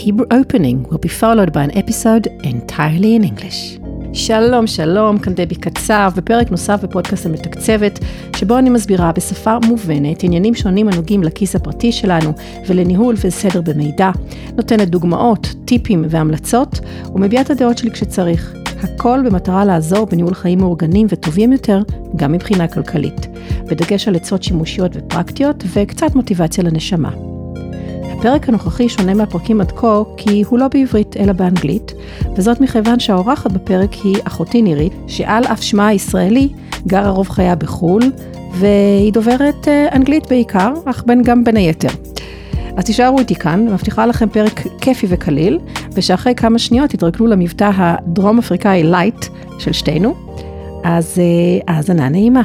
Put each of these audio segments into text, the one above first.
Hebrew opening will be followed by an episode entirely in English. שלום, שלום, כאן דבי קצב, בפרק נוסף בפודקאסט המתקצבת, שבו אני מסבירה בשפה מובנת עניינים שונים הנוגעים לכיס הפרטי שלנו ולניהול וסדר במידע, נותנת דוגמאות, טיפים והמלצות, ומביעה את הדעות שלי כשצריך. הכל במטרה לעזור בניהול חיים מאורגנים וטובים יותר, גם מבחינה כלכלית, בדגש על עצות שימושיות ופרקטיות וקצת מוטיבציה לנשמה. הפרק הנוכחי שונה מהפרקים עד כה כי הוא לא בעברית אלא באנגלית, וזאת מכיוון שהאורחת בפרק היא אחותי נירית, שעל אף שמה הישראלי גרה רוב חייה בחול, והיא דוברת אנגלית בעיקר, אך גם בין היתר. אז תישארו איתי כאן, מבטיחה לכם פרק כיפי וקליל, ושאחרי כמה שניות תתרגלו למבטא הדרום אפריקאי לייט של שתינו, אז האזנה נעימה.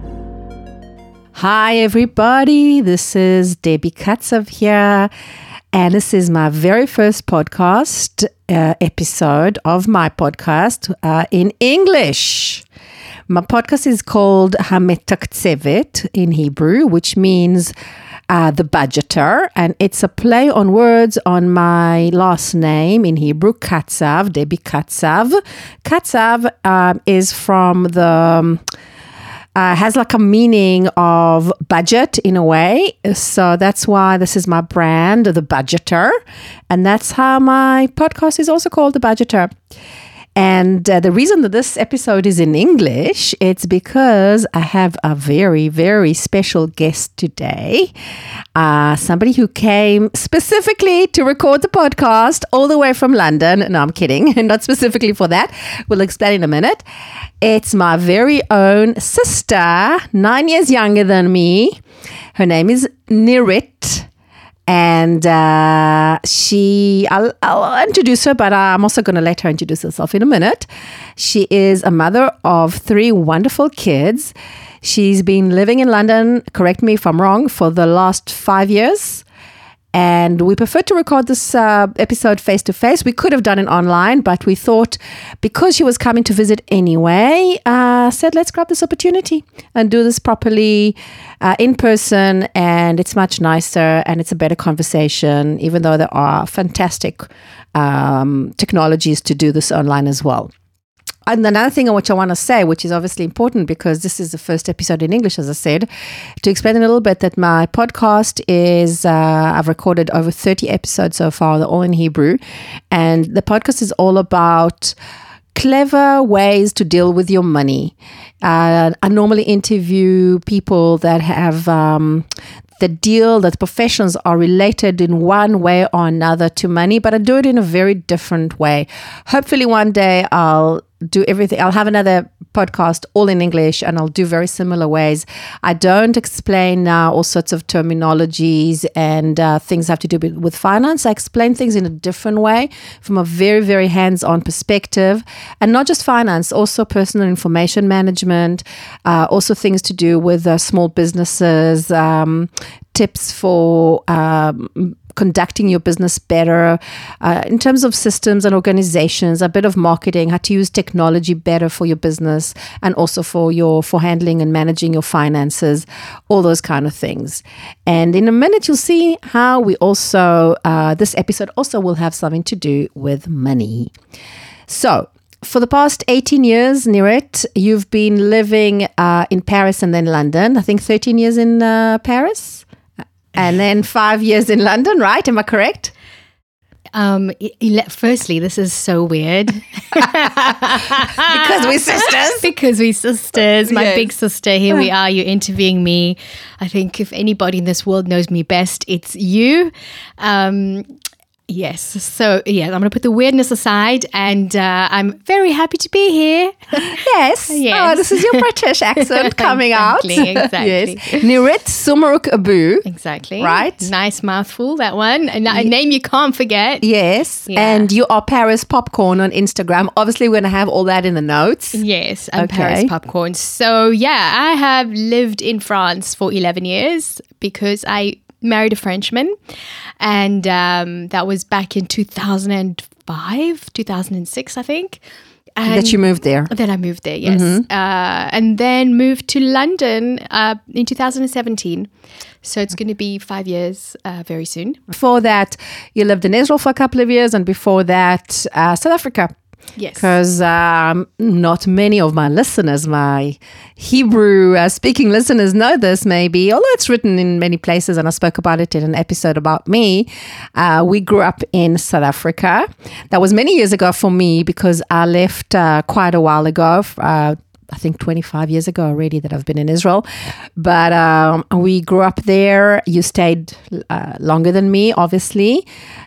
Hi everybody, this is Debbie Katsav here, and this is my very first podcast episode of my podcast in English. My podcast is called Hametakzevet in Hebrew, which means the budgeter, and it's a play on words on my last name in Hebrew, Katsav, Debbie Katsav. Katsav is from the... has like a meaning of budget in a way. So that's why this is my brand, The Budgeter. And that's how my podcast is also called The Budgeter. And the reason that this episode is in English, it's because I have a very, very special guest today. Somebody who came specifically to record the podcast all the way from London. No, I'm kidding. Not specifically for that. We'll explain in a minute. It's my very own sister, 9 years younger than me. Her name is Nirit. And I'll introduce her, but I'm also going to let her introduce herself in a minute. She is a mother of 3 wonderful kids. She's been living in London, correct me if I'm wrong, for the last 5 years. And we prefer to record this episode face-to-face. We could have done it online, but we thought because she was coming to visit anyway, said let's grab this opportunity and do this properly in person. And it's much nicer and it's a better conversation, even though there are fantastic technologies to do this online as well. And another thing which I want to say, which is obviously important because this is the first episode in English, as I said, to explain a little bit that my podcast is, I've recorded over 30 episodes so far, they're all in Hebrew. And the podcast is all about clever ways to deal with your money. I normally interview people that have that professions are related in one way or another to money, but I do it in a very different way. Hopefully one day I'll do everything. I'll have another podcast all in English and I'll do very similar ways. I don't explain now all sorts of terminologies and things have to do with finance. I explain things in a different way from a very, very hands-on perspective, and not just finance, also personal information management, also things to do with small businesses, tips for conducting your business better in terms of systems and organizations, a bit of marketing, how to use technology better for your business and also for handling and managing your finances, all those kind of things. And in a minute, you'll see how we also, this episode also will have something to do with money. So, for the past 18 years, Nirit, you've been living in Paris and then London. I think 13 years in Paris. And then 5 years in London, right? Am I correct? Firstly, this is so weird. Because we're sisters. Because we're sisters. My Yes. big sister, here we are, you're interviewing me. I think if anybody in this world knows me best, it's you. Yes. So, yeah, I'm going to put the weirdness aside and I'm very happy to be here. Yes. Oh, this is your British accent coming Exactly. out. Yes. Nirit Sumaruk Abu. Exactly. Right. Nice mouthful, that one. A name you can't forget. Yes. Yeah. And you are Paris Popcorn on Instagram. Obviously, we're going to have all that in the notes. Yes, I'm Okay. Paris Popcorn. So, yeah, I have lived in France for 11 years because I married a Frenchman, and that was back in 2005, 2006, I think. That you moved there. Then I moved there, yes. And then moved to London in 2017. So it's going to be 5 years very soon. Before that, you lived in Israel for a couple of years, and before that, South Africa. Yes. Because not many of my listeners, my Hebrew speaking listeners know this maybe, although it's written in many places and I spoke about it in an episode about me. We grew up in South Africa. That was many years ago for me because I left quite a while ago. I think 25 years ago already that I've been in Israel. But we grew up there. You stayed longer than me, obviously.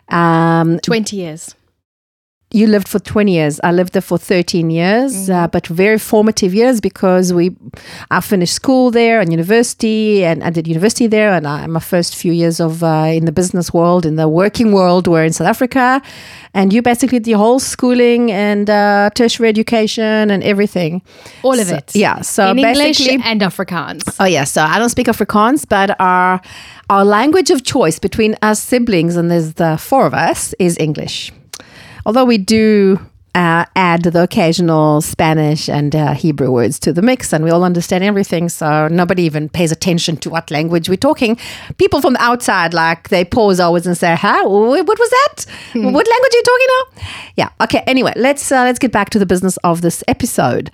20 years. You lived for 20 years. I lived there for 13 years, but very formative years because I finished school there and university, and I did university there. And my first few years of in the business world, in the working world, were in South Africa. And you basically did your whole schooling and tertiary education and everything. All of it. Yeah. So in basically, English and Afrikaans. Oh, yeah. So I don't speak Afrikaans, but our language of choice between us siblings, and there's the four of us, is English. Although we do add the occasional Spanish and Hebrew words to the mix, and we all understand everything, so nobody even pays attention to what language we're talking. People from the outside, like, they pause always and say, "Huh? What was that? What language are you talking now?" Yeah. Okay. Anyway, let's get back to the business of this episode.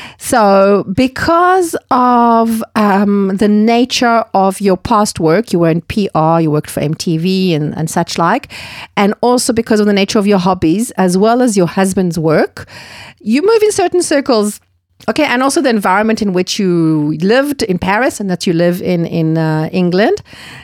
So, because of the nature of your past work, you were in PR, you worked for MTV and such like, and also because of the nature of your hobbies, as well as your husband's work, you move in certain circles. Okay, and also the environment in which you lived in Paris and that you live in England.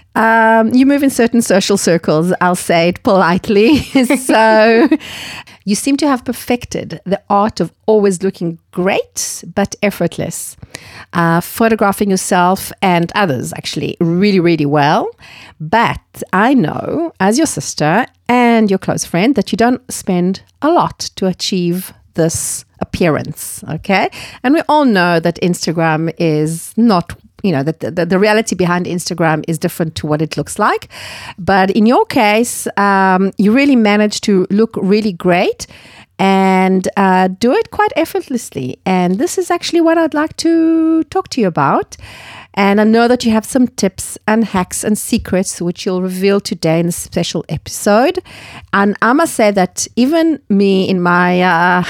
You move in certain social circles, I'll say it politely. So you seem to have perfected the art of always looking great, but effortless. Photographing yourself and others actually really, really well. But I know, as your sister and your close friend, that you don't spend a lot to achieve this appearance, okay? And we all know that Instagram is not, that the reality behind Instagram is different to what it looks like. But in your case, you really managed to look really great and do it quite effortlessly. And this is actually what I'd like to talk to you about. And I know that you have some tips and hacks and secrets which you'll reveal today in a special episode. And I must say that even me in my,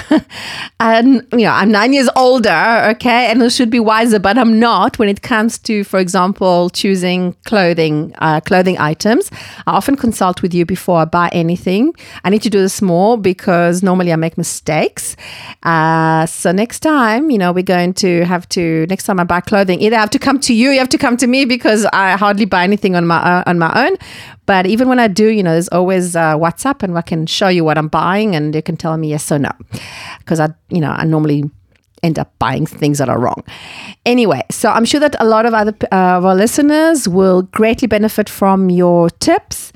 I'm 9 years older, okay, and I should be wiser, but I'm not when it comes to, for example, choosing clothing items. I often consult with you before I buy anything. I need to do this more because normally I make mistakes. So next time, we're going to have to, next time I buy clothing, either I have to come to you have to come to me because I hardly buy anything on my own. But even when I do, there's always WhatsApp, and I can show you what I'm buying, and you can tell me yes or no, because I normally end up buying things that are wrong. Anyway, so I'm sure that a lot of other of our listeners will greatly benefit from your tips.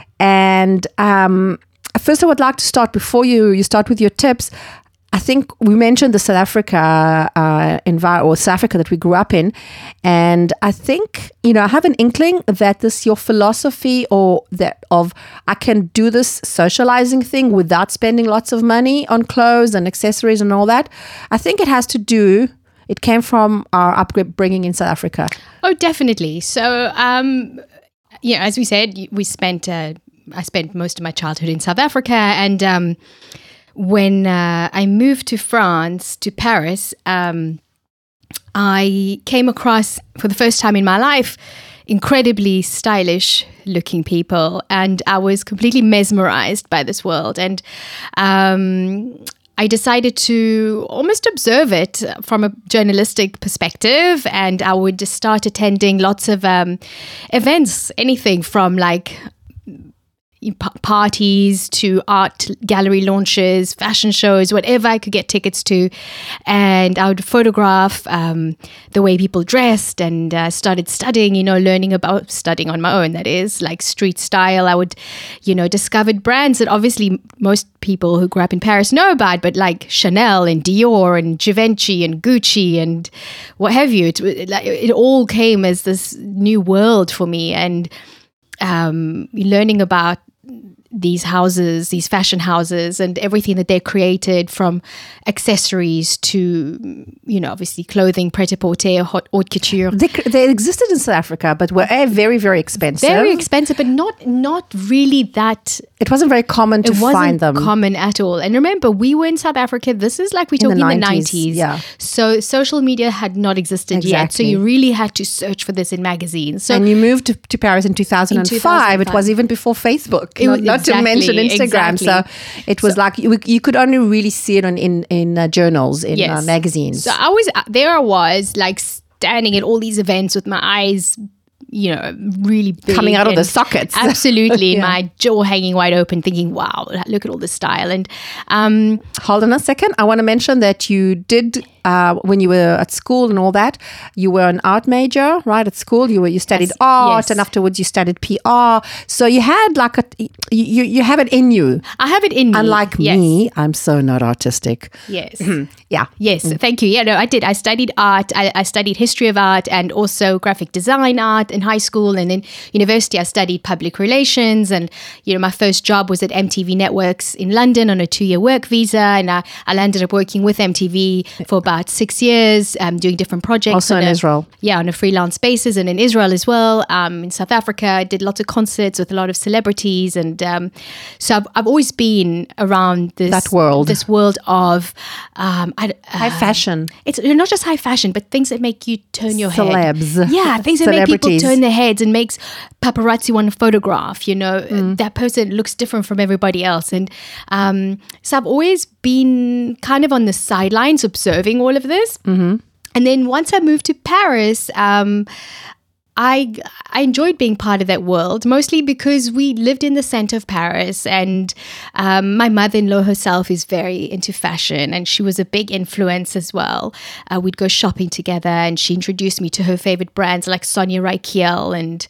And first, I would like to start, before you start with your tips. I think we mentioned the South Africa South Africa that we grew up in, and I think I have an inkling that this your philosophy or that of I can do this socializing thing without spending lots of money on clothes and accessories and all that. I think it came from our upbringing in South Africa. Oh, definitely. So, as we said, I spent most of my childhood in South Africa, and when I moved to France, to Paris, I came across, for the first time in my life, incredibly stylish looking people, and I was completely mesmerized by this world. And I decided to almost observe it from a journalistic perspective, and I would just start attending lots of events, anything from parties to art gallery launches, fashion shows, whatever I could get tickets to. And I would photograph the way people dressed, and started studying, studying on my own, that is, like street style. I would, discovered brands that obviously most people who grew up in Paris know about, but like Chanel and Dior and Givenchy and Gucci and what have you. It all came as this new world for me, and learning about these houses, these fashion houses, and everything that they created, from accessories to, obviously clothing, pret-a-porter, haute couture. They existed in South Africa, but were very, very expensive. Very expensive, but not really that. It wasn't very common to find them. It wasn't common at all. And remember, we were in South Africa. This is like we're talking in the 90s. Yeah. So social media had not existed yet. So you really had to search for this in magazines. So, and you moved to Paris in 2005. It was even before Facebook, not to mention Instagram. Exactly. So it was like you could only really see it in journals, in magazines. So I was like standing at all these events with my eyes, really big, coming out of the sockets. Absolutely. My jaw hanging wide open, thinking, wow, look at all this style. And hold on a second. I want to mention that you did, when you were at school and all that, you were an art major, right? At school, you studied art, and afterwards you studied PR. So you had like you have it in you. I have it in me. Unlike me, I'm so not artistic. Yes. Yeah. Yes. Thank you. Yeah, no, I did. I studied art. I studied history of art and also graphic design art in high school, and then university I studied public relations, and my first job was at MTV Networks in London on a 2-year work visa, and I landed up working with MTV for about 6 years, doing different projects. Also in Israel. Yeah, on a freelance basis, and in Israel as well. In South Africa, I did lots of concerts with a lot of celebrities, and so I've always been around this world of high fashion. It's not just high fashion, but things that make you turn your head. Celebs. Yeah, things that make people turn their heads and makes paparazzi want to photograph. That person looks different from everybody else. And so I've always been kind of on the sidelines observing all of this. Mm-hmm. And then once I moved to Paris, I enjoyed being part of that world, mostly because we lived in the center of Paris, and my mother-in-law herself is very into fashion, and she was a big influence as well. We'd go shopping together, and she introduced me to her favorite brands like Sonia Rykiel and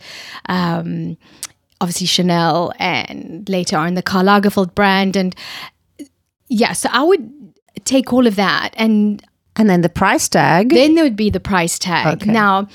obviously Chanel, and later on the Karl Lagerfeld brand. And yeah, so I would take all of that, and then the price tag. Then there would be the price tag. Okay. Now,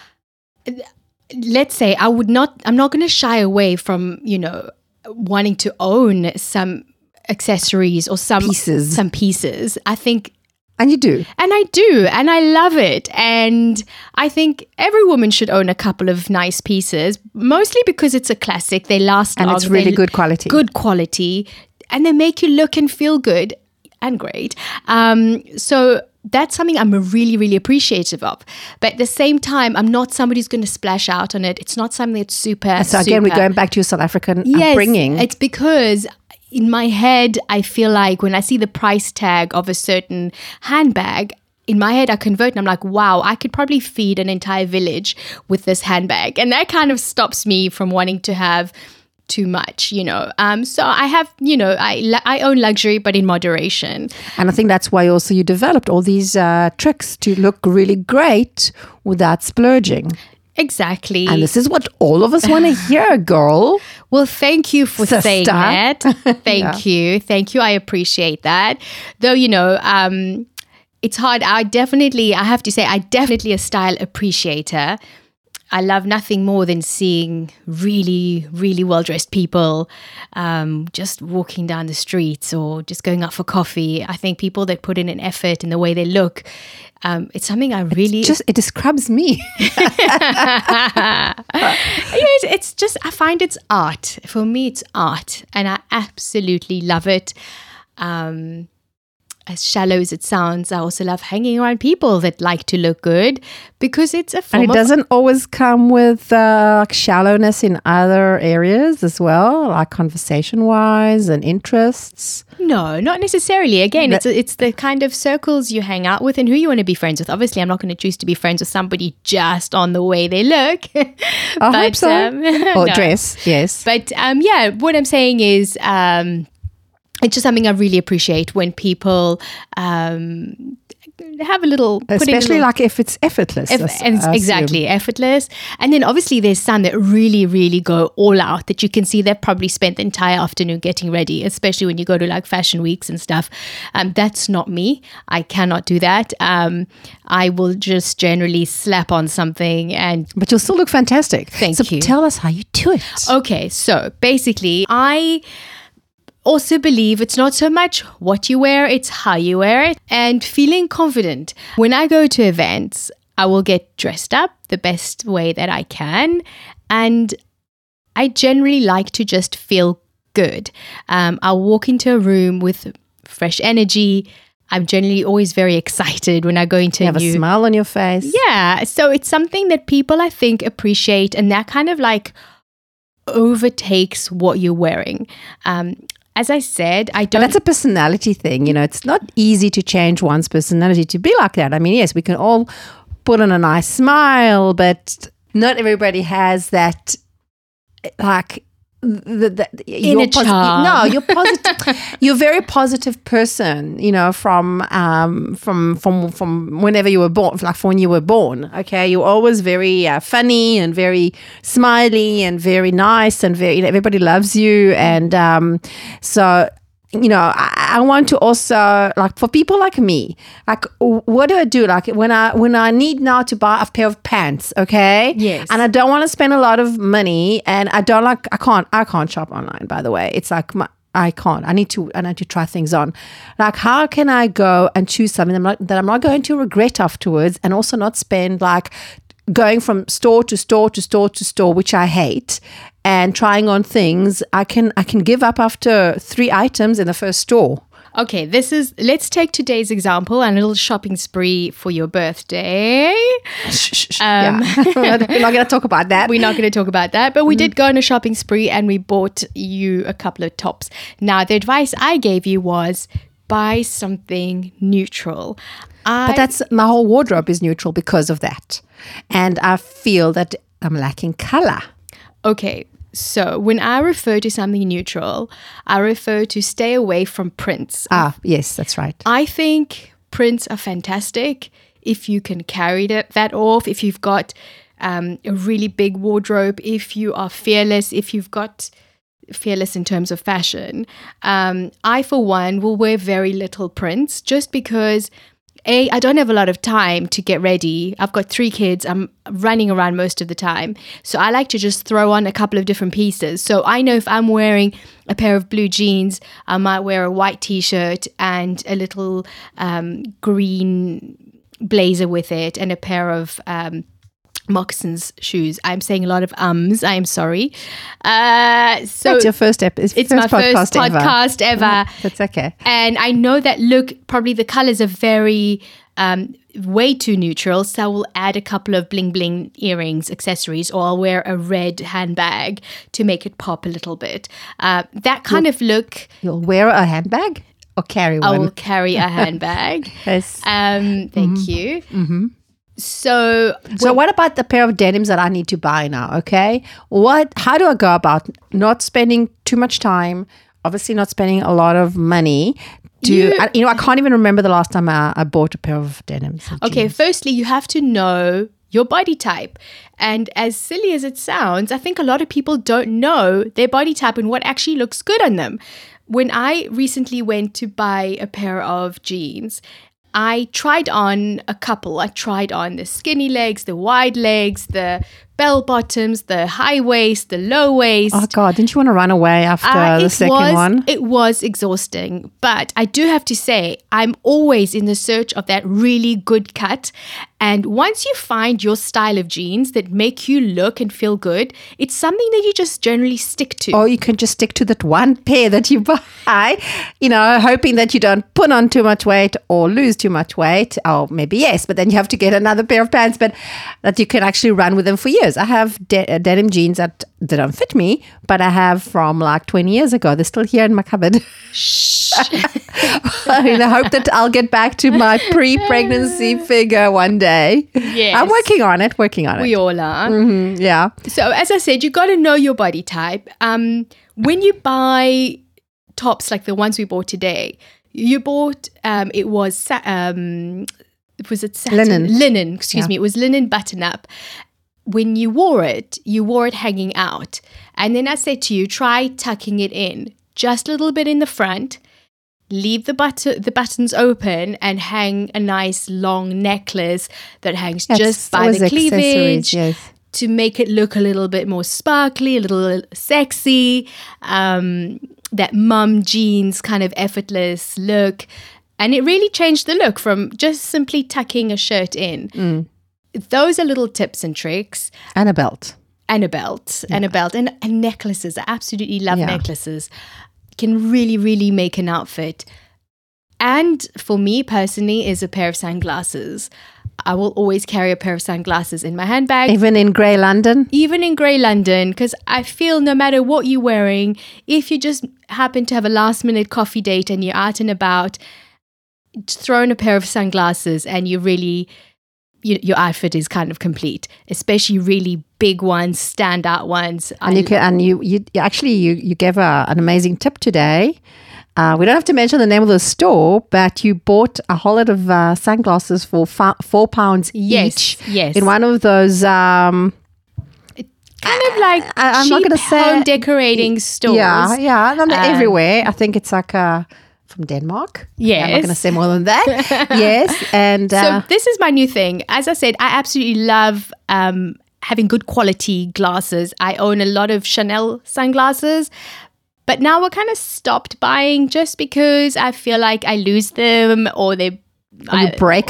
let's say I'm not going to shy away from, wanting to own some accessories or some pieces. I think. And you do. And I do. And I love it. And I think every woman should own a couple of nice pieces, mostly because it's a classic. They last long. And it's really good quality. Good quality. And they make you look and feel good and great. So that's something I'm really, really appreciative of. But at the same time, I'm not somebody who's going to splash out on it. It's not something that's super. So again, we're going back to your South African upbringing. It's because in my head, I feel like when I see the price tag of a certain handbag, in my head, I convert and I'm like, wow, I could probably feed an entire village with this handbag. And that kind of stops me from wanting to have too much, So I have, I own luxury, but in moderation. And I think that's why also you developed all these tricks to look really great without splurging. Exactly. And this is what all of us want to hear, girl. Well, thank you for saying that. Thank you. Thank you. I appreciate that. Though, it's hard. I have to say, I definitely a style appreciator. I love nothing more than seeing really, really well-dressed people just walking down the streets or just going out for coffee. I think people that put in an effort in the way they look, it's something I really... It describes me. It's just, I find it's art. For me, it's art. And I absolutely love it. As shallow as it sounds, I also love hanging around people that like to look good because it's a form And it doesn't always come with shallowness in other areas as well, like conversation-wise and interests. No, not necessarily. Again, it's the kind of circles you hang out with and who you want to be friends with. Obviously, I'm not going to choose to be friends with somebody just on the way they look. I hope so. Or dress, yes. But what I'm saying is... it's just something I really appreciate when people have a little, especially like if it's effortless. Exactly, effortless. And then obviously there's some that really, really go all out, that you can see they've probably spent the entire afternoon getting ready, especially when you go to like fashion weeks and stuff. That's not me. I cannot do that. I will just generally slap on something But you'll still look fantastic. Thank you. Tell us how you do it. Okay, so basically I also believe it's not so much what you wear, it's how you wear it and feeling confident. When I go to events, I will get dressed up the best way that I can, and I generally like to just feel good. I'll walk into a room with fresh energy. I'm generally always very excited when I go into you have a smile on your face. Yeah, so it's something that people I think appreciate, and that kind of like overtakes what you're wearing. As I said, I don't... But that's a personality thing. It's not easy to change one's personality to be like that. I mean, yes, we can all put on a nice smile, but not everybody has that, like... Inner charm. No, you're positive. You're a very positive person, from whenever you were born, like from when you were born. Okay, you're always very funny and very smiley and very nice and very. Everybody loves you, and so. I want to also, like, for people like me, like, what do I do? Like, when I need now to buy a pair of pants, okay? Yes. And I don't want to spend a lot of money, and I can't shop online, by the way. It's like, I can't. I need to try things on. Like, how can I go and choose something that I'm not going to regret afterwards, and also not spend, like, going from store to store to store to store, which I hate, and trying on things I can give up after 3 items in the first store. Okay, let's take today's example, a little shopping spree for your birthday. Yeah. We're not going to talk about that. We're not going to talk about that, but we did go on a shopping spree and we bought you a couple of tops. Now, the advice I gave you was buy something neutral. But that's my whole wardrobe is neutral because of that. And I feel that I'm lacking color. Okay, so when I refer to something neutral, I refer to stay away from prints. Yes, that's right. I think prints are fantastic if you can carry that off, if you've got a really big wardrobe, if you are fearless, if you've got fearless in terms of fashion. I, for one, will wear very little prints just because... I don't have a lot of time to get ready. I've got 3 kids. I'm running around most of the time. So I like to just throw on a couple of different pieces. So I know if I'm wearing a pair of blue jeans, I might wear a white t-shirt and a little green blazer with it and a pair of moccasins shoes. I'm saying a lot of I am sorry. So that's your first episode. It's my first podcast ever. That's okay. And I know that probably the colors are very way too neutral. So I will add a couple of bling bling earrings, accessories, or I'll wear a red handbag to make it pop a little bit. That kind of look. You'll wear a handbag or carry one? I will carry a handbag. Yes. Thank you. Mm-hmm. So what about the pair of denims that I need to buy now? Okay, how do I go about not spending too much time? Obviously, not spending a lot of money. I can't even remember the last time I bought a pair of denims. Okay, firstly, you have to know your body type. And as silly as it sounds, I think a lot of people don't know their body type and what actually looks good on them. When I recently went to buy a pair of jeans, I tried on a couple. I tried on the skinny legs, the wide legs, the bell bottoms, the high waist, the low waist. Oh God, didn't you want to run away after the second one? It was exhausting. But I do have to say, I'm always in the search of that really good cut. And once you find your style of jeans that make you look and feel good, it's something that you just generally stick to. Or you can just stick to that one pair that you buy, hoping that you don't put on too much weight or lose too much weight. Or maybe yes, but then you have to get another pair of pants, but that you can actually run with them for years. I have denim jeans that don't fit me, but I have from like 20 years ago. They're still here in my cupboard. Shh. In the hope that I'll get back to my pre-pregnancy figure one day. Yes. I'm working on it. We all are. Mm-hmm, yeah. So as I said, you got to know your body type. When you buy tops like the ones we bought today, you bought, it was was it satin? Linen. Linen, excuse me. It was linen button-up. When you wore it hanging out. And then I said to you, try tucking it in just a little bit in the front, leave the buttons open, and hang a nice long necklace that hangs just by the cleavage, yes, to make it look a little bit more sparkly, a little sexy, that mum jeans kind of effortless look. And it really changed the look from just simply tucking a shirt in. Those are little tips and tricks. And a belt. And a belt. And a belt. And necklaces. I absolutely love necklaces. Can really, really make an outfit. And for me personally is a pair of sunglasses. I will always carry a pair of sunglasses in my handbag. Even in grey London? Even in grey London, because I feel no matter what you're wearing, if you just happen to have a last minute coffee date and you're out and about, throw in a pair of sunglasses and you really, your outfit is kind of complete, especially really big ones, standout ones. And you gave an amazing tip today. We don't have to mention the name of the store, but you bought a whole lot of sunglasses for £4 each. Yes. In one of those kind of like I'm cheap not gonna say home decorating stores. Yeah. And they're everywhere. I think it's like from Denmark. Yes. I'm not going to say more than that. Yes. And so this is my new thing. As I said, I absolutely love having good quality glasses. I own a lot of Chanel sunglasses. But now I kind of stopped buying just because I feel like I lose them or they break.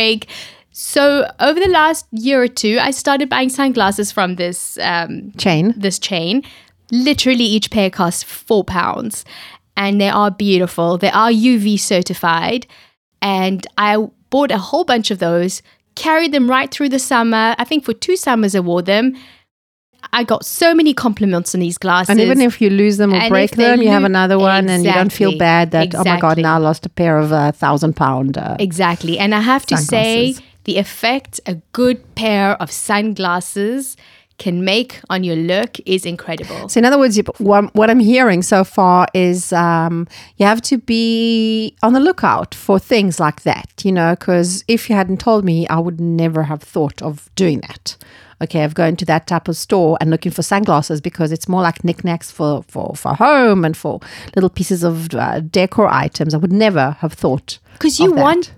So over the last year or two, I started buying sunglasses from this chain. Literally each pair costs £4. And they are beautiful. They are UV certified. And I bought a whole bunch of those, carried them right through the summer. I think for 2 summers I wore them. I got so many compliments on these glasses. And even if you lose them or break them, you have another one and you don't feel bad that, oh my God, now I lost a pair of £1,000. Exactly. And I have to say, the effect a good pair of sunglasses can make on your look is incredible. So in other words, what I'm hearing so far is you have to be on the lookout for things like that, because if you hadn't told me, I would never have thought of doing that. Okay, of going to that type of store and looking for sunglasses because it's more like knickknacks for home and for little pieces of decor items. I would never have thought. Because you want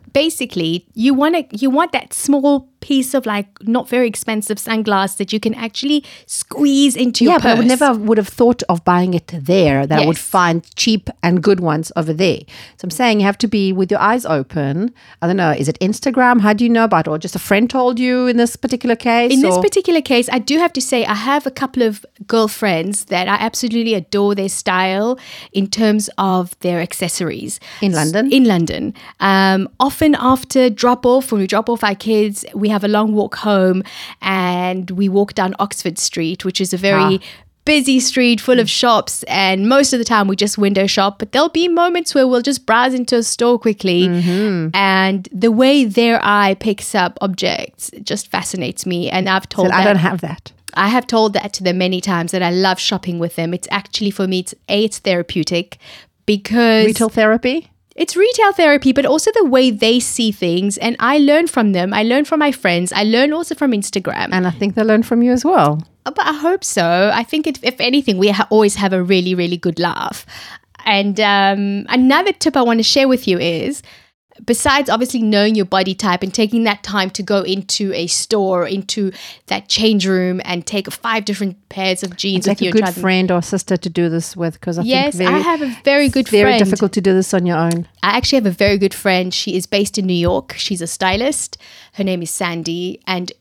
that small piece of like not very expensive sunglass that you can actually squeeze into your purse. But I would have thought of buying it there, that I would find cheap and good ones over there. So I'm saying you have to be with your eyes open. I don't know, is it Instagram? How do you know about it? Or just a friend told you in this particular case? In this particular case, I do have to say I have a couple of girlfriends that I absolutely adore their style in terms of their accessories. In London? In London. Often after when we drop off our kids, we have a long walk home and we walk down Oxford Street, which is a very busy street full of shops, and most of the time we just window shop, but there'll be moments where we'll just browse into a store quickly, and the way their eye picks up objects just fascinates me. And I don't have that. I have told that to them many times that I love shopping with them. It's actually, for me, it's therapeutic because... Retail therapy? It's retail therapy, but also the way they see things. And I learn from them. I learn from my friends. I learn also from Instagram. And I think they learn from you as well. But I hope so. I think if anything, we always have a really, really good laugh. And another tip I want to share with you is, besides obviously knowing your body type and taking that time to go into a store, into that change room and take 5 different pairs of jeans with you. Like a good friend or sister to do this with, because I think I have a very good friend. Very difficult to do this on your own. I actually have a very good friend. She is based in New York. She's a stylist. Her name is Sandy, and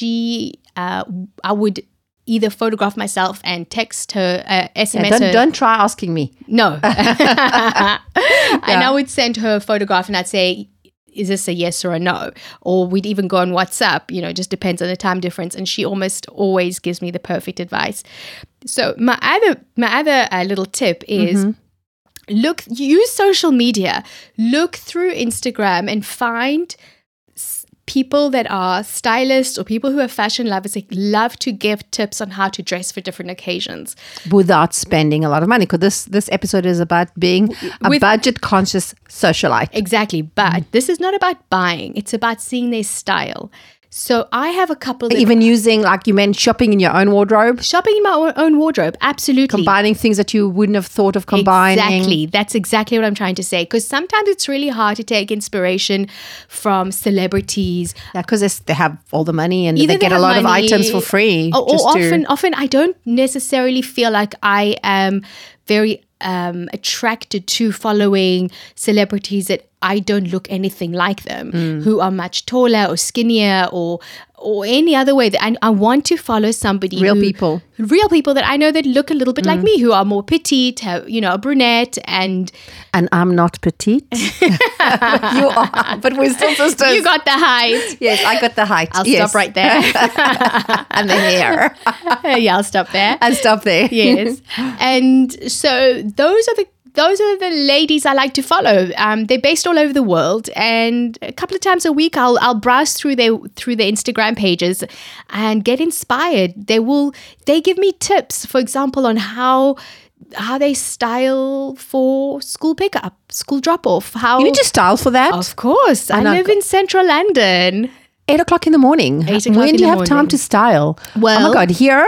I would either photograph myself and text her, SMS her. Don't try asking me. No. And I would send her a photograph and I'd say, is this a yes or a no? Or we'd even go on WhatsApp, just depends on the time difference. And she almost always gives me the perfect advice. So my other little tip is use social media. Look through Instagram and find people that are stylists or people who are fashion lovers, they love to give tips on how to dress for different occasions. Without spending a lot of money. Because this episode is about being a budget-conscious socialite. Exactly. But this is not about buying. It's about seeing their style. So I have a couple that... Even using, like you meant, shopping in your own wardrobe? Shopping in my own wardrobe, absolutely. Combining things that you wouldn't have thought of combining. Exactly. That's exactly what I'm trying to say. Because sometimes it's really hard to take inspiration from celebrities. Yeah, because they have all the money and Either they get a lot of items for free. Or often I don't necessarily feel like I am very attracted to following celebrities that I don't look anything like them, who are much taller or skinnier or any other way. That I want to follow somebody real people that I know that look a little bit like me, who are more petite, have, a brunette, and I'm not petite. You are, but we're still sisters. You got the height. Yes, I got the height. I'll stop right there. And the hair. Yeah, I'll stop there. And stop there. Yes, and so those are the ladies I like to follow. They're based all over the world, and a couple of times a week I'll browse through their Instagram pages and get inspired. They give me tips, for example, on how they style for school pickup, school drop off. You need to style for that. Of course, I live in central London. 8 o'clock in the morning. 8 o'clock when do you have time to style? Well, oh my God, here.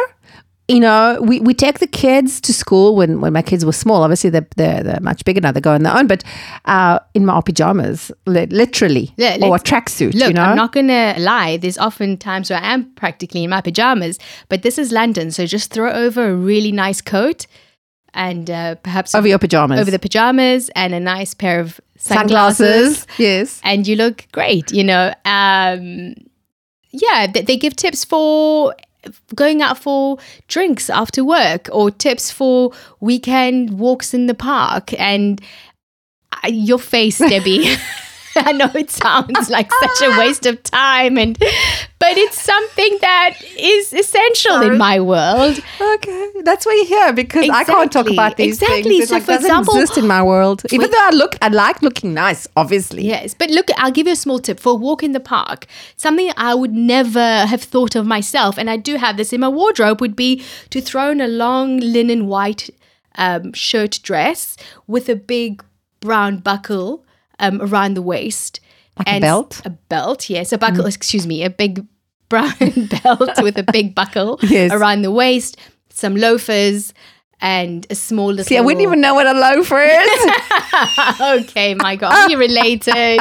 We take the kids to school when my kids were small. Obviously, they're much bigger now. They go on their own. But in my pajamas, literally, or a tracksuit. Look, I'm not going to lie. There's often times where I am practically in my pajamas. But this is London, so just throw over a really nice coat and perhaps over your pajamas, over the pajamas, and a nice pair of sunglasses. Yes, and you look great. They give tips for going out for drinks after work, or tips for weekend walks in the park. And your face, Debbie. I know it sounds like such a waste of time, but it's something that is essential in my world. Okay, that's why you're here, because I can't talk about these things. It So, for example, doesn't exist in my world. Even though I like looking nice, obviously. Yes, but look, I'll give you a small tip for a walk in the park. Something I would never have thought of myself, and I do have this in my wardrobe, would be to throw in a long linen white shirt dress with a big brown buckle around the waist. Like a belt? A belt, yes. A buckle, a big brown belt with a big buckle around the waist, some loafers, and a small little... See, I wouldn't even know what a loafer is. Okay, my God, you're related.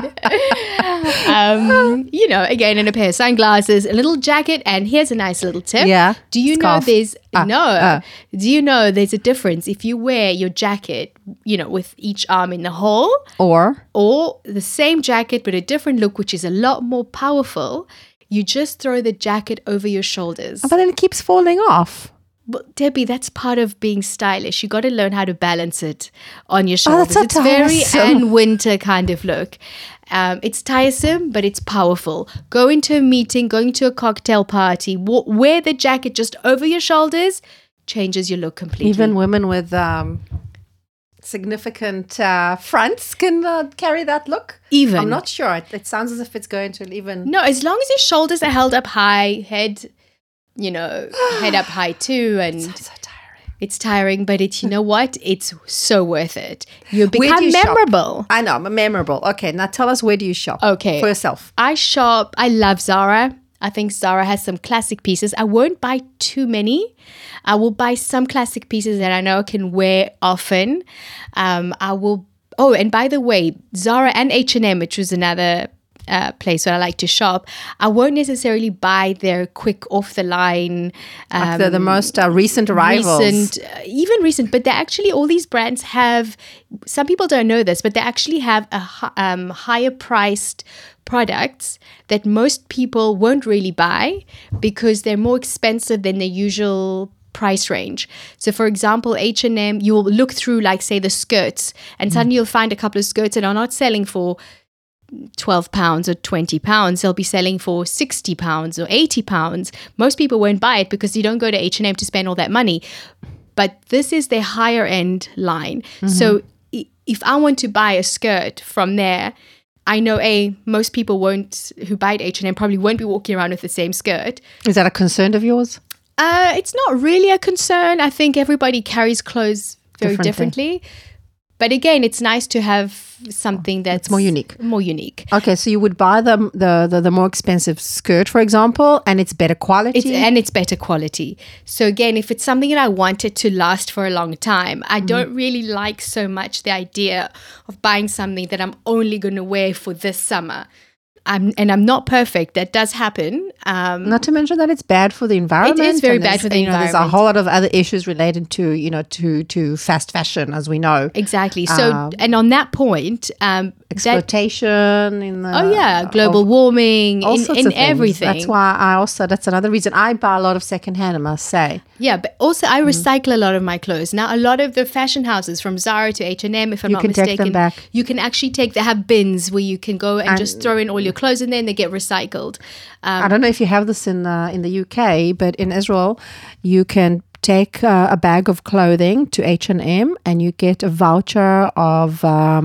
Again, in a pair of sunglasses, a little jacket, and here's a nice little tip. Yeah. Do you know there's... Do you know there's a difference if you wear your jacket, with each arm in the hole? Or the same jacket but a different look, which is a lot more powerful. You just throw the jacket over your shoulders. But then it keeps falling off. But Debbie, that's part of being stylish. You got to learn how to balance it on your shoulders. That's so tiresome. It's very Anne Winter kind of look. It's tiresome, but it's powerful. Go into a meeting, going to a cocktail party, wear the jacket just over your shoulders, changes your look completely. Even women with significant fronts can carry that look. Even. I'm not sure. It sounds as if it's going to even... No, as long as your shoulders are held up high, head up high too, and so tiring. It's tiring, but you know what? It's so worth it. You become memorable. Shop? I know, I'm memorable. Okay, now tell us, where do you shop? Okay, for yourself. I love Zara. I think Zara has some classic pieces. I won't buy too many. I will buy some classic pieces that I know I can wear often. I will. Oh, and by the way, Zara and H&M, which was another place where I like to shop, I won't necessarily buy their quick off the line, like the most recent arrivals. Recent, but they actually, all these brands have, some people don't know this, but they actually have a higher priced products that most people won't really buy because they're more expensive than the usual price range. So for example, H&M, you will look through, like, say, the skirts, and suddenly you'll find a couple of skirts that are not selling for £12 or £20. They'll be selling for £60 or £80. Most people won't buy it because you don't go to H&M to spend all that money. But this is their higher end line. So if I want to buy a skirt from there, I know most people who buy at H&M probably won't be walking around with the same skirt. Is that a concern of yours? It's not really a concern. I think everybody carries clothes very differently. But again, it's nice to have something that's more unique. More unique. Okay, so you would buy the more expensive skirt, for example, and it's better quality. It's better quality. So again, if it's something that I wanted to last for a long time, I don't really like so much the idea of buying something that I'm only going to wear for this summer. I'm not perfect. That does happen. Not to mention that it's bad for the environment. It is very bad for the environment. There's a whole lot of other issues related to, to fast fashion, as we know. Exactly. So, and on that point, exploitation in the global warming, in everything. That's why that's another reason I buy a lot of secondhand, I must say. Yeah, but also I recycle a lot of my clothes. Now, a lot of the fashion houses, from Zara to H&M, if I'm not mistaken, take them back. You can actually they have bins where you can go and just throw in all your clothes in there and they get recycled. I don't know if you have this in the UK, but in Israel, you can take a bag of clothing to H&M and you get a voucher of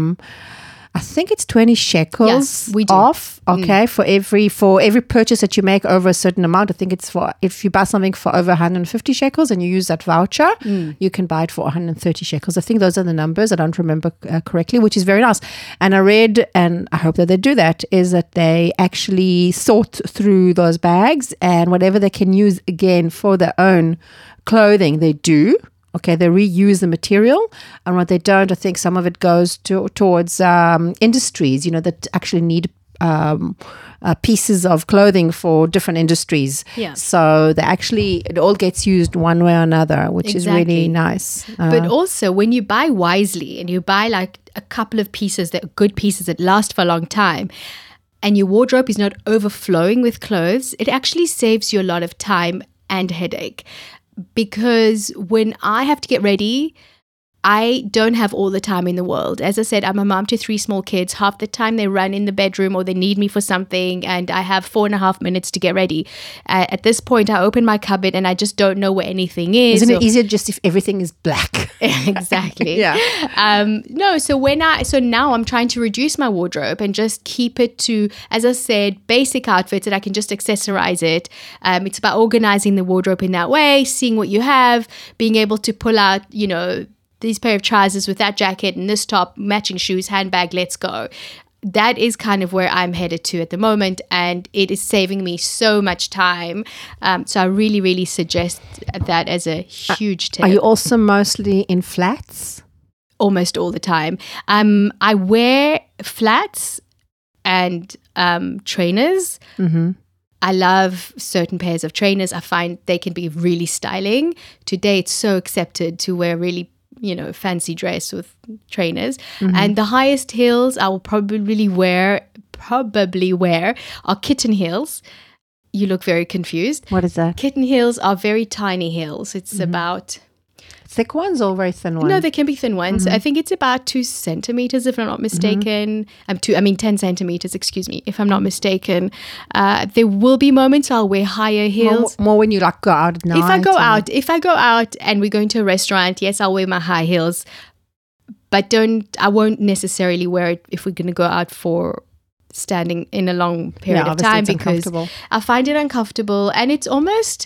I think it's 20 shekels off, okay, for every purchase that you make over a certain amount. I think it's if you buy something for over 150 shekels and you use that voucher, you can buy it for 130 shekels. I think those are the numbers. I don't remember correctly, which is very nice. And I read, and I hope that they do that, is that they actually sort through those bags and whatever they can use again for their own clothing, they do. Okay, they reuse the material, and what they don't, I think some of it goes towards industries, that actually need pieces of clothing for different industries. Yeah. So it all gets used one way or another, which is really nice. But also, when you buy wisely and you buy like a couple of good pieces that last for a long time, and your wardrobe is not overflowing with clothes, it actually saves you a lot of time and headache. Because when I have to get ready, I don't have all the time in the world. As I said, I'm a mom to 3 small kids. Half the time they run in the bedroom or they need me for something, and I have 4.5 minutes to get ready. At this point, I open my cupboard and I just don't know where anything is. Isn't it easier just if everything is black? Exactly. Yeah. So now I'm trying to reduce my wardrobe and just keep it to, as I said, basic outfits that I can just accessorize it. It's about organizing the wardrobe in that way, seeing what you have, being able to pull out, these pair of trousers with that jacket and this top, matching shoes, handbag, let's go. That is kind of where I'm headed to at the moment, and it is saving me so much time. So I really, really suggest that as a huge tip. Are you also mostly in flats? Almost all the time. I wear flats and trainers. Mm-hmm. I love certain pairs of trainers. I find they can be really styling. Today, it's so accepted to wear really fancy dress with trainers. Mm-hmm. And the highest heels I will probably wear are kitten heels. You look very confused. What is that? Kitten heels are very tiny heels. It's about... Thick ones or very thin ones? No, they can be thin ones. I think it's about 2 centimeters, if I'm not mistaken. 10 centimeters, excuse me, if I'm not mistaken. There will be moments I'll wear higher heels. More when you go out at night. If I go out and we're going to a restaurant, yes, I'll wear my high heels. But I won't necessarily wear it if we're going to go out for standing in a long period of time, because I find it uncomfortable, and it's almost...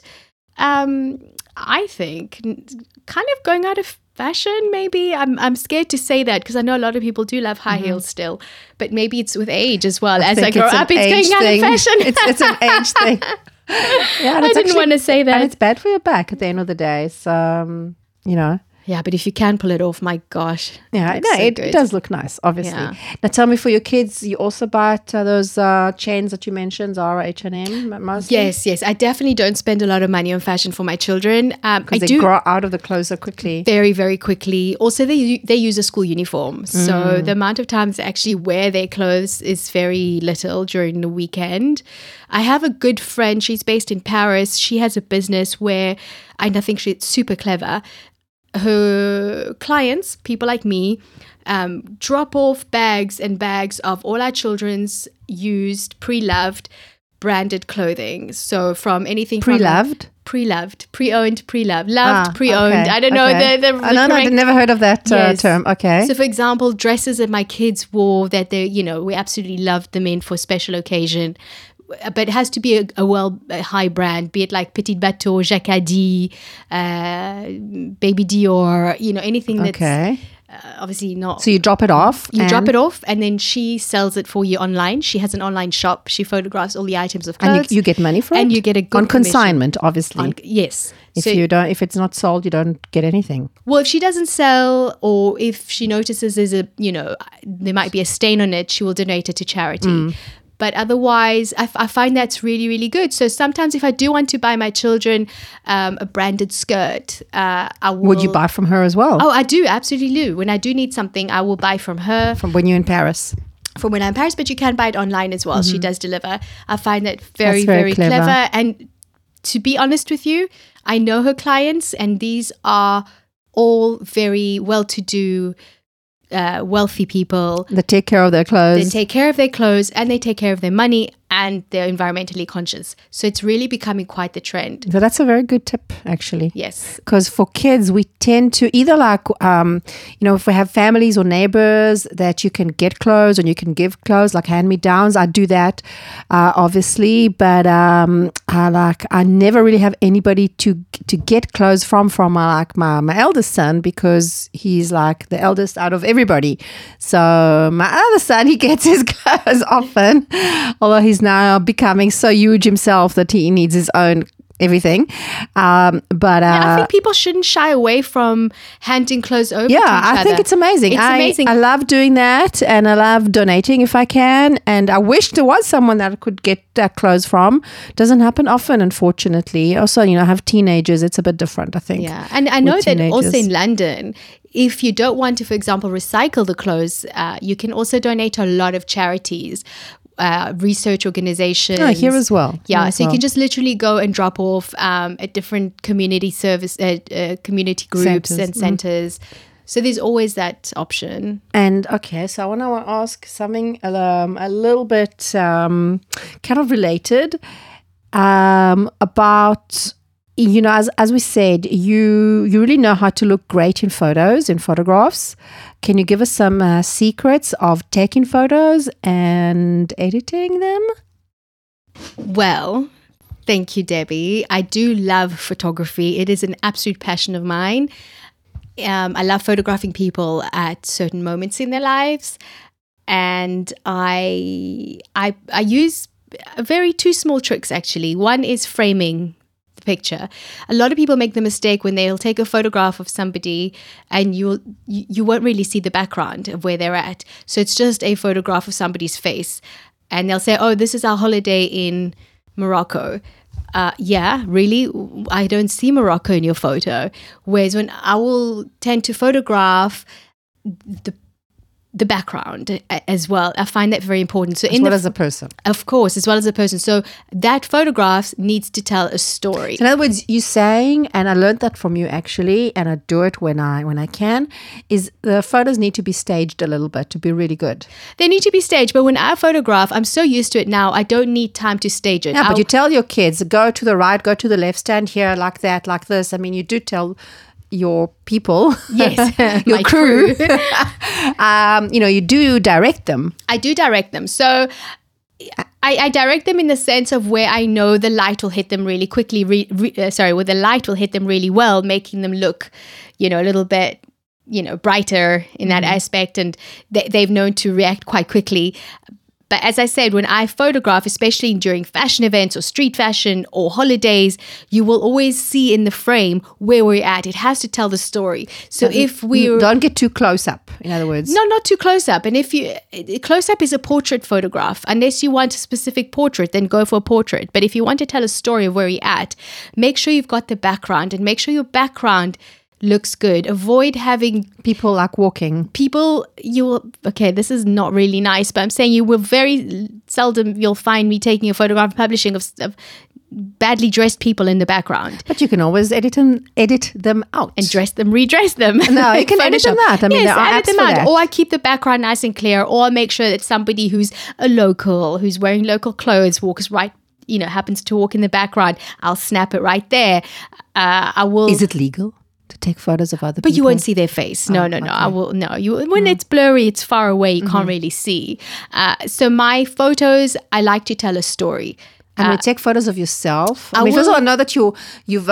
I think kind of going out of fashion, maybe. I'm scared to say that because I know a lot of people do love high heels still, but maybe it's with age as well. As I grow up, it's going out of fashion. It's an age thing. Yeah, I didn't want to say that. And it's bad for your back at the end of the day. So, Yeah, but if you can pull it off, my gosh. Yeah, it does look nice, obviously. Yeah. Now, tell me, for your kids, you also buy those chains that you mentioned, Zara, H&M, mostly? Yes. I definitely don't spend a lot of money on fashion for my children. Because they grow out of the clothes so quickly. Very, very quickly. Also, they use a school uniform. So the amount of times they actually wear their clothes is very little during the weekend. I have a good friend. She's based in Paris. She has a business where, and I think she's super clever, her clients, people like me, drop off bags and bags of all our children's used, pre-loved branded clothing. So from anything from Pre-loved? Pre-loved, pre-owned, pre-loved, loved, pre-owned. Okay, I don't know the no, correct. I've never heard of that Yes. term. Okay. So, for example, dresses that my kids wore that we absolutely loved them in for special occasion. But it has to be a high brand, be it like Petit Bateau, Jacquardie, Baby Dior, anything that's Okay. obviously not. So you drop it off. You drop it off, and then she sells it for you online. She has an online shop. She photographs all the items of clothes, and you get money for it. and you get a good on commission. consignment, obviously. Yes. If it's not sold, you don't get anything. Well, if she doesn't sell, or if she notices there's there might be a stain on it, she will donate it to charity. But otherwise, I find that's really, really good. So sometimes if I do want to buy my children a branded skirt, I will... Would you buy from her as well? Oh, I do. Absolutely do. When I do need something, I will buy from her. From when you're in Paris? From when I'm in Paris, but you can buy it online as well. She does deliver. I find that very, That's very very clever. And to be honest with you, I know her clients, and these are all very well-to-do, wealthy people. They take care of their They clothes. take care of their clothes, and they take care of their money, and they're environmentally conscious. So it's really becoming quite the trend. So that's a very good tip, actually. Yes. Because for kids, we tend to either if we have families or neighbors that you can get clothes and you can give clothes, like hand-me-downs. I do that, obviously, but I never really have anybody to get clothes from my eldest son, because he's like the eldest out of everybody. So my other son, he gets his clothes often, although he's now becoming so huge himself that he needs his own everything. I think people shouldn't shy away from handing clothes over to each other. I think it's amazing. It's amazing. I love doing that, and I love donating if I can. And I wish there was someone that I could get clothes from. Doesn't happen often, unfortunately. Also, I have teenagers. It's a bit different, I think. Yeah, and I know that also teenagers. in London, if you don't want to, for example, recycle the clothes, you can also donate to a lot of charities. Research organizations. Oh, here as well. Yeah, so you can just literally go and drop off at different community service, community groups and centers. So there's always that option. And okay, so I want to ask something a little bit kind of related about. As we said, you really know how to look great in photographs. Can you give us some secrets of taking photos and editing them? Well, thank you, Debbie. I do love photography. It is an absolute passion of mine. I love photographing people at certain moments in their lives. And I use two small tricks, actually. One is framing picture. A lot of people make the mistake when they'll take a photograph of somebody and you won't really see the background of where they're at. So it's just a photograph of somebody's face, and they'll say, "Oh, this is our holiday in Morocco." Yeah, really? I don't see Morocco in your photo. Whereas when I will tend to photograph the background as well. I find that very important. So as a person. Of course, as well as a person. So that photograph needs to tell a story. So in other words, you're saying, and I learned that from you actually, and I do it when I can, is the photos need to be staged a little bit to be really good. They need to be staged, but when I photograph, I'm so used to it now, I don't need time to stage it. Yeah, but you tell your kids, go to the right, go to the left, stand here like that, like this. I mean, you do tell your people, yes, your crew, you do direct them. I do direct them. So I direct them in the sense of where I know the light will hit them really quickly, where the light will hit them really well, making them look, a little bit, brighter in that aspect. And they've known to react quite quickly. But as I said, when I photograph, especially during fashion events or street fashion or holidays, you will always see in the frame where we're at. It has to tell the story. So if we don't get too close up, in other words. No, not too close up. And close up is a portrait photograph. Unless you want a specific portrait, then go for a portrait. But if you want to tell a story of where you're at, make sure you've got the background and make sure your background looks good. Avoid having people like walking. This is not really nice, but I'm saying you will very seldom, you'll find me taking a photograph and publishing of badly dressed people in the background. But you can always edit them out. And redress them. No, you can edit them out. I mean, there are apps for that. Or I keep the background nice and clear, or I make sure that somebody who's a local, who's wearing local clothes, walks right happens to walk in the background, I'll snap it right there. I will. Is it legal to take photos of other people? But you won't see their face. No. I will. No, when it's blurry, it's far away. You can't really see. So my photos, I like to tell a story. And we take photos of yourself. First of all, I know that you've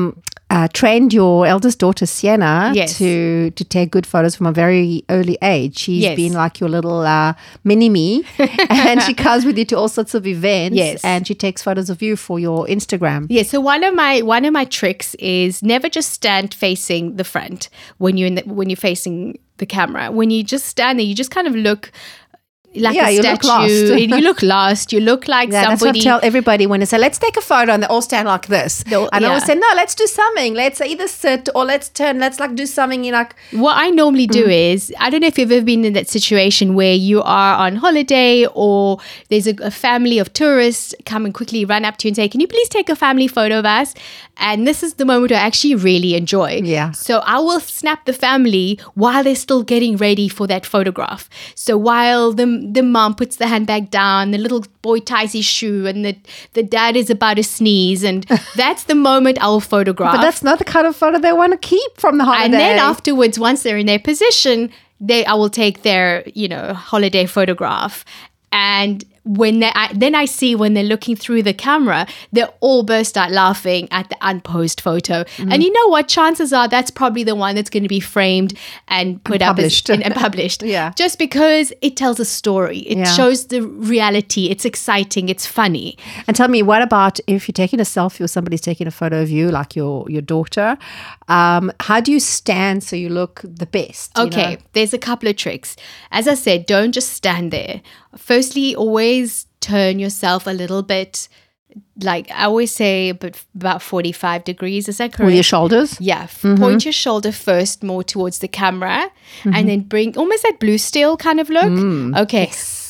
trained your eldest daughter, Sienna, to take good photos from a very early age. She's been like your little mini-me. And she comes with you to all sorts of events. Yes. And she takes photos of you for your Instagram. Yeah, so one of my tricks is never just stand facing the front when you're facing the camera. When you just stand there, you just kind of look like a statue. You look lost. You look like somebody. That's what I tell everybody when they say, let's take a photo, and they all stand like this. I always say, no, let's do something. Let's either sit or let's turn. Let's like do something. What I normally do is, I don't know if you've ever been in that situation where you are on holiday or there's a family of tourists come and quickly run up to you and say, can you please take a family photo of us? And this is the moment I actually really enjoy. Yeah. So I will snap the family while they're still getting ready for that photograph. So while the mom puts the handbag down, the little boy ties his shoe, and the dad is about to sneeze, and that's the moment I'll photograph. But that's not the kind of photo they want to keep from the holiday. And then afterwards, once they're in their position, I will take their holiday photograph. And when I see when they're looking through the camera, they all burst out laughing at the unposed photo. And you know what? Chances are that's probably the one that's going to be framed and put up and published. Yeah. Just because it tells a story. It shows the reality. It's exciting. It's funny. And tell me, what about if you're taking a selfie or somebody's taking a photo of you, like your daughter? How do you stand so you look the best? Okay, there's a couple of tricks. As I said, don't just stand there. Firstly, always turn yourself a little bit, like I always say, about 45 degrees. Is that correct? With your shoulders? Yeah. Point your shoulder first more towards the camera and then bring almost that blue steel kind of look. Okay. Yes,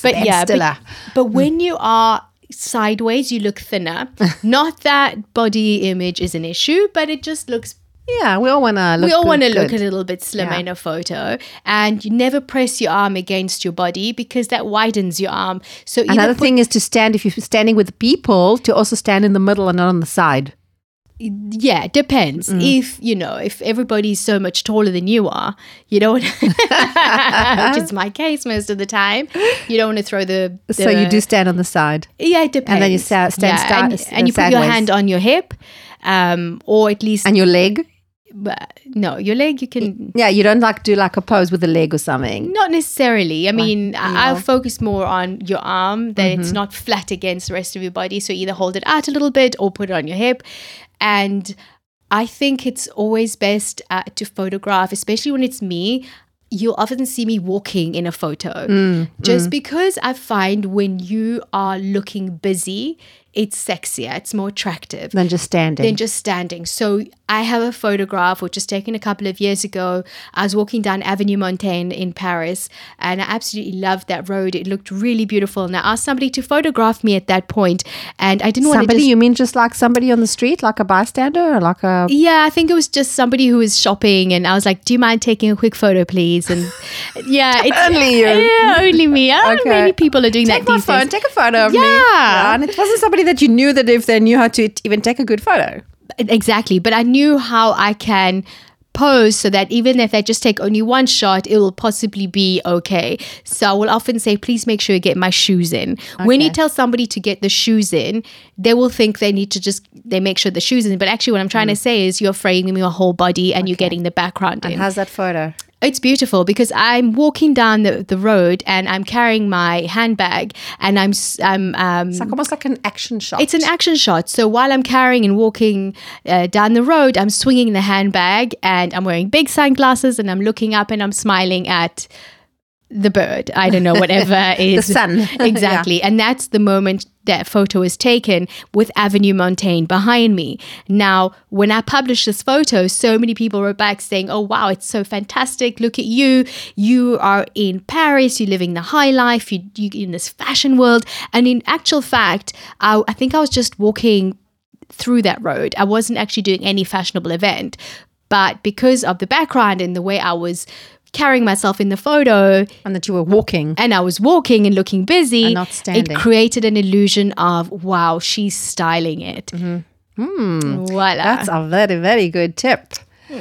but when you are sideways, you look thinner. Not that body image is an issue, but it just looks. Yeah, we all want to look. We all want to look a little bit slimmer in a photo, and you never press your arm against your body because that widens your arm. So another thing is to stand. If you're standing with people, to also stand in the middle and not on the side. Yeah, it depends. If everybody's so much taller than you are, you don't, which is my case most of the time, you don't want to throw the So you do stand on the side. Yeah, it depends. And then you stand and you put your hand on your hip, or at least and your leg. No, your leg you can. Yeah, you don't do a pose with the leg or something. Not necessarily. I mean, I'll focus more on your arm, that it's not flat against the rest of your body. So either hold it out a little bit or put it on your hip. And I think it's always best to photograph, especially when it's me. You'll often see me walking in a photo. Just because I find when you are looking busy, it's sexier, it's more attractive. Than just standing. So I have a photograph which was taken a couple of years ago. I was walking down Avenue Montaigne in Paris, and I absolutely loved that road. It looked really beautiful. And I asked somebody to photograph me at that point, and I didn't want to. Somebody, you mean just like somebody on the street, like a bystander, or like a? Yeah, I think it was just somebody who was shopping, and I was like, "Do you mind taking a quick photo, please?" And yeah, it's only you. Yeah, only me. I don't know, many people are doing that these days. Take a photo of me. Yeah, and it wasn't somebody that you knew that if they knew how to even take a good photo. Exactly. But I knew how I can pose so that even if they just take only one shot, it will possibly be okay. So I will often say, please make sure you get my shoes in. Okay. When you tell somebody to get the shoes in, they will think they need to they make sure the shoes in. But actually what I'm trying to say is you're framing your whole body and you're getting the background in. And how's that photo? It's beautiful because I'm walking down the road and I'm carrying my handbag and it's like almost like an action shot. It's an action shot. So while I'm carrying and walking down the road, I'm swinging the handbag and I'm wearing big sunglasses and I'm looking up and I'm smiling at the bird. I don't know, whatever is. The sun. Exactly. Yeah. And that's the moment that photo is taken with Avenue Montaigne behind me. Now, when I published this photo, so many people wrote back saying, oh, wow, it's so fantastic. Look at you. You are in Paris. You're living the high life. You're in this fashion world. And in actual fact, I think I was just walking through that road. I wasn't actually doing any fashionable event. But because of the background and the way I was carrying myself in the photo, And that you were walking. and I was walking and looking busy, And not standing. it created an illusion of, wow, she's styling it. Voila. That's a very, very good tip.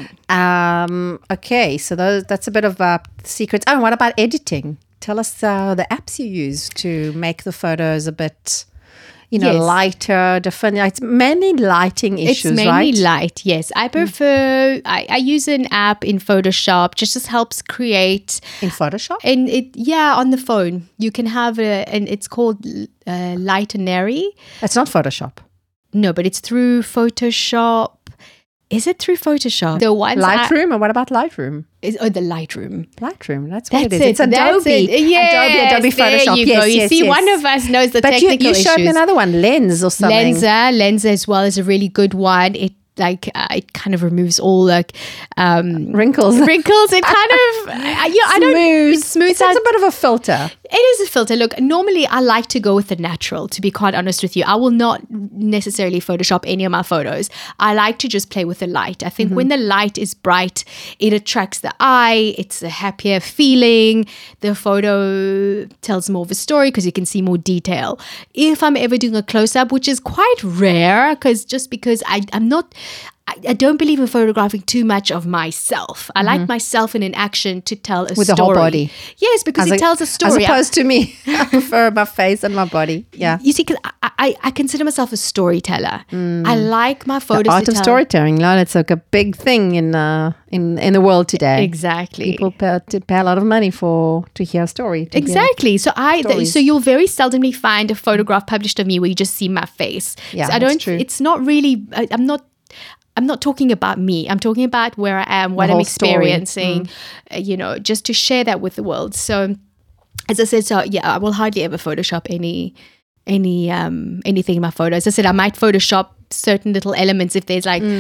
Okay, so that's a bit of secrets. Oh, and what about editing? Tell us the apps you use to make the photos a bit, Yes. lighter, different. It's mainly lighting issues, It's mainly right? light, yes. I prefer, I use an app in Photoshop, just helps create, In Photoshop? and on the phone. You can have and it's called Lightenary. It's not Photoshop. No, but it's through Photoshop. Is it through Photoshop? The ones Lightroom? And what about Lightroom? the Lightroom. Lightroom, that's what That's it is. It's That's Adobe. it. Yes, Adobe Photoshop. There you yes, go. You yes, see, yes. one of us knows the But technical you showed me issues. another one, Lens or something. Lensa as well is a really good one. It it kind of removes all Wrinkles. wrinkles. It kind of I don't. It smooths It's out. a bit of a filter. It is a filter. Look, normally I like to go with the natural, to be quite honest with you. I will not necessarily Photoshop any of my photos. I like to just play with the light. I think when the light is bright, it attracts the eye. It's a happier feeling. The photo tells more of a story because you can see more detail. If I'm ever doing a close-up, which is quite rare, because I'm not... I don't believe in photographing too much of myself. I like myself in an action to tell a story. With the whole body. Yes, because it tells a story. As opposed to me. I prefer my face and my body. Yeah. You see, 'cause I consider myself a storyteller. I like my photos The art to of tell. storytelling, it's like a big thing in the world today. Exactly. People pay a lot of money to hear a story. to hear- Exactly. So stories. so you'll very seldomly find a photograph published of me where you just see my face. Yeah, so I that's don't. true. It's not really. I'm not talking about me. I'm talking about where I am, what I'm whole story. experiencing. Just to share that with the world. So, as I said, I will hardly ever Photoshop anything in my photos. As I said, I might Photoshop certain little elements if there's like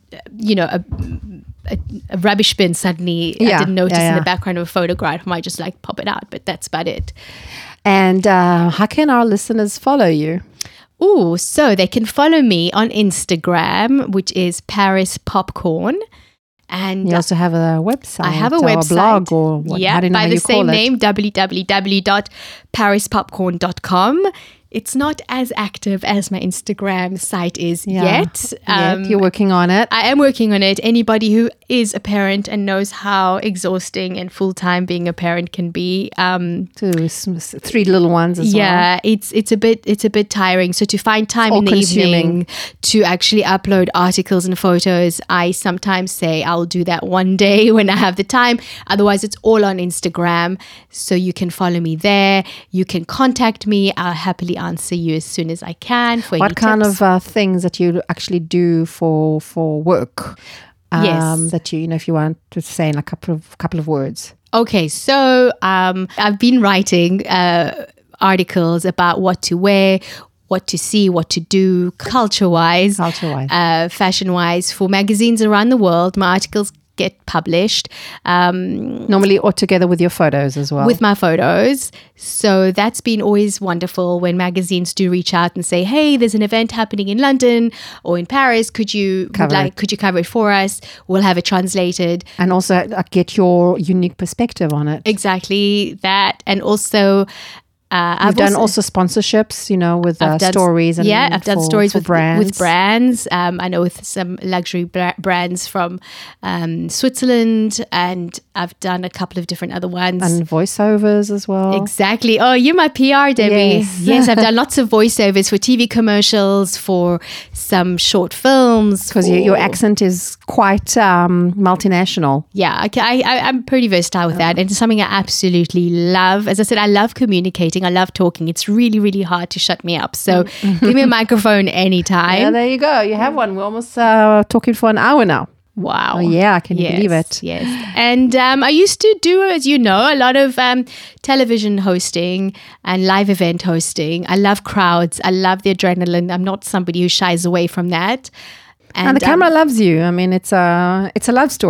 a rubbish bin suddenly I Yeah, didn't notice yeah, in yeah. the background of a photograph. I might just pop it out, but that's about it. And how can our listeners follow you? Oh, so they can follow me on Instagram, which is Paris Popcorn. And You also have a website. I have a or website. a blog or what? Yeah, how do you know by how the you call same it? name, www.parispopcorn.com. It's not as active as my Instagram site is yet. Yet. You're working on it. I am working on it. Anybody who is a parent and knows how exhausting and full-time being a parent can be, Three little ones as well. yeah, it's a bit tiring. So to find time in the all-consuming. evening to actually upload articles and photos, I sometimes say I'll do that one day when I have the time. Otherwise, it's all on Instagram. So you can follow me there. You can contact me. I'll happily answer you as soon as I can. For What any kind tips. of things that you actually do for work? Yes. That if you want to say in a couple of words. Okay, so I've been writing articles about what to wear, what to see, what to do, culture-wise, fashion-wise, for magazines around the world. My articles get published. Normally all together with your photos as well. With my photos. So that's been always wonderful when magazines do reach out and say, hey, there's an event happening in London or in Paris. Could you cover it for us? We'll have it translated. And also get your unique perspective on it. Exactly that. And also... I've done also sponsorships, with stories. And I've done stories with brands. With brands. I know with some luxury brands from Switzerland, and I've done a couple of different other ones. And voiceovers as well. Exactly. Oh, you're my PR, Debbie. Yes. Yes, I've done lots of voiceovers for TV commercials, for some short films. Because your accent is quite multinational. Yeah, I'm pretty versatile with that. And it's something I absolutely love. As I said, I love communicating. I love talking. It's really, really hard to shut me up. So give me a microphone anytime. Yeah, there you go. You have one. We're almost talking for an hour now. Wow. Oh, yeah, can you believe it? Yes. And I used to do, as you know, a lot of television hosting and live event hosting. I love crowds. I love the adrenaline. I'm not somebody who shies away from that. And the camera loves you. I mean, it's a love story.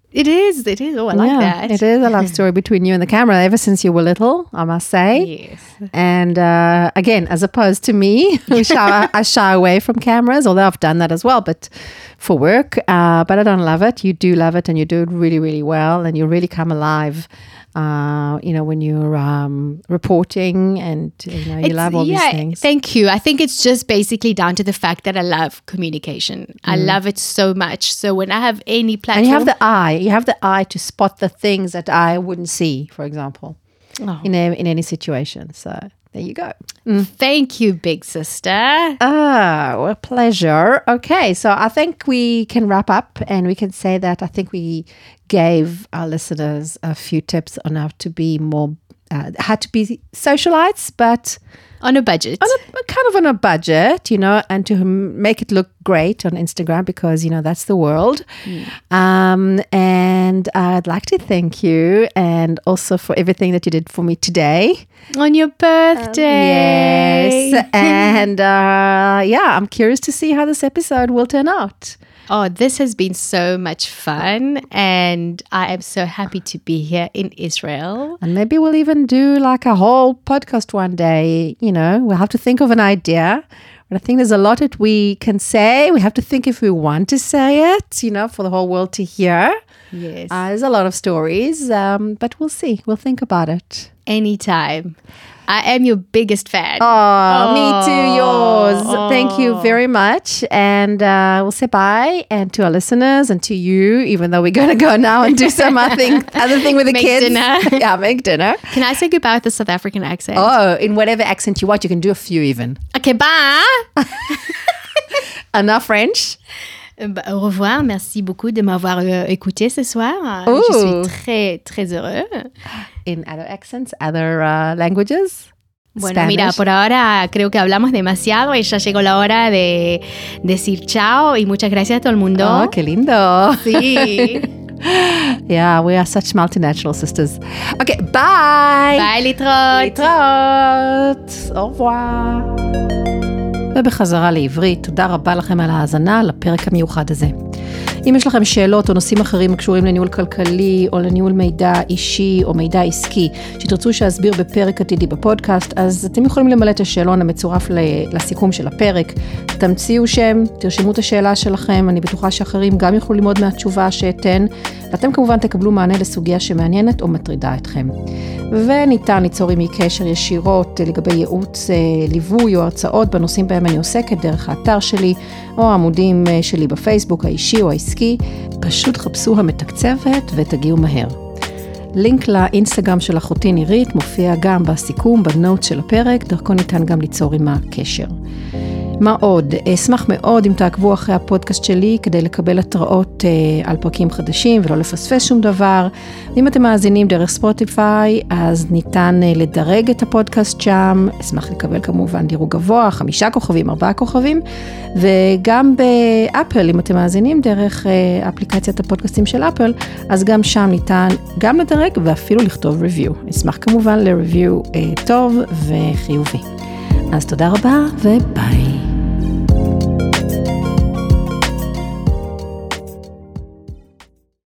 It is. Oh, I like that. It is a love story between you and the camera ever since you were little, I must say. Yes. And again, as opposed to me, I shy away from cameras, although I've done that as well, but for work. But I don't love it. You do love it, and you do it really, really well, and you really come alive. When you're reporting, and you love all these things. Thank you. I think it's just basically down to the fact that I love communication. I love it so much. So when I have any platform, and you have the eye to spot the things that I wouldn't see, for example, in any situation. So there you go. Thank you, big sister. A pleasure. Okay, so I think we can wrap up, and we can say that I think we gave our listeners a few tips on how to be more, how to be socialites, but on a budget. On a budget, and to make it look great on Instagram, because, that's the world. And I'd like to thank you, and also for everything that you did for me today. On your birthday. Yes. And I'm curious to see how this episode will turn out. Oh, this has been so much fun, and I am so happy to be here in Israel. And maybe we'll even do like a whole podcast one day. We'll have to think of an idea. But I think there's a lot that we can say. We have to think if we want to say it, for the whole world to hear. Yes. There's a lot of stories, but we'll see. We'll think about it. Anytime. I am your biggest fan. Oh, me too, yours. Thank you very much. And we'll say bye. And to our listeners and to you, even though we're going to go now and do some other thing with the kids. Dinner. Yeah, make dinner. Can I say goodbye with a South African accent? Oh, in whatever accent you want. You can do a few even. Okay, bye. Enough French. Au revoir, merci beaucoup de m'avoir écouté ce soir. Ooh. Je suis très, très heureux. In other accents, other languages? Bueno, Spanish. Mira, por ahora creo que hablamos demasiado y ya llegó la hora de decir chao y muchas gracias a todo el mundo. Oh, qué lindo. Sí. Yeah, we are such multinational sisters. Okay, bye. Bye, להתראות. להתראות. Au revoir. ובחזרה לעברית, תודה רבה לכם על ההאזנה לפרק המיוחד הזה. אם יש לכם שאלות או נושאים אחרים הקשורים לניהול כלכלי או לניהול מידע אישי או מידע עסקי שתרצו שאסביר בפרק עתידי בפודקאסט, אז אתם יכולים למלא את השאלון המצורף לסיכום של הפרק. תמציאו שם, תרשמו את השאלה שלכם, אני בטוחה שאחרים גם יוכלו ללמוד מהתשובה שאתן, ואתם כמובן תקבלו מענה לסוגיה שמעניינת או מטרידה אתכם. וניתן ליצור עמי קשר ישירות לגבי ייעוץ, ליווי או הרצאות בנושאים בהם אני עוסקת דרך האתר שלי או העמודים שלי בפייסבוק האישי או העסקי. פשוט חפשו המתקצבת ותגיעו מהר. לינק לאינסטגרם של אחותי נירית מופיע גם בסיכום, בנוט של הפרק, דרכו ניתן גם ליצור עמה קשר. מה עוד? אשמח מאוד אם תעקבו אחרי הפודקאסט שלי כדי לקבל התראות על פרקים חדשים ולא לפספס שום דבר. ואם אתם מאזינים דרך ספוטיפיי, אז ניתן לדרג את הפודקאסט שם. אשמח לקבל כמובן דירוג גבוה, 5 כוכבים, 4 כוכבים. וגם באפל, אם אתם מאזינים דרך אפליקציית הפודקאסטים של אפל, אז גם שם ניתן גם לדרג ואפילו לכתוב ריוויו. אשמח כמובן לריוויו טוב וחיובי. אז תודה רבה וביי.